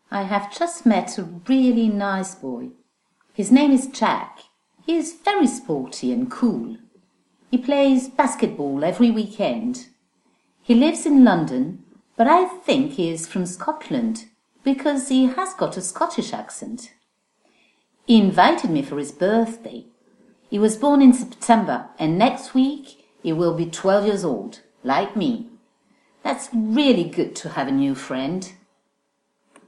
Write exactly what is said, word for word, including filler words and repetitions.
I have just met a really nice boy. His name is Jack. He is very sporty and cool. He plays basketball every weekend. He lives in London, but I think he is from Scotland because he has got a Scottish accent. He invited me for his birthday. He was born in September, and next week he will be twelve years old, like me. That's really good to have a new friend.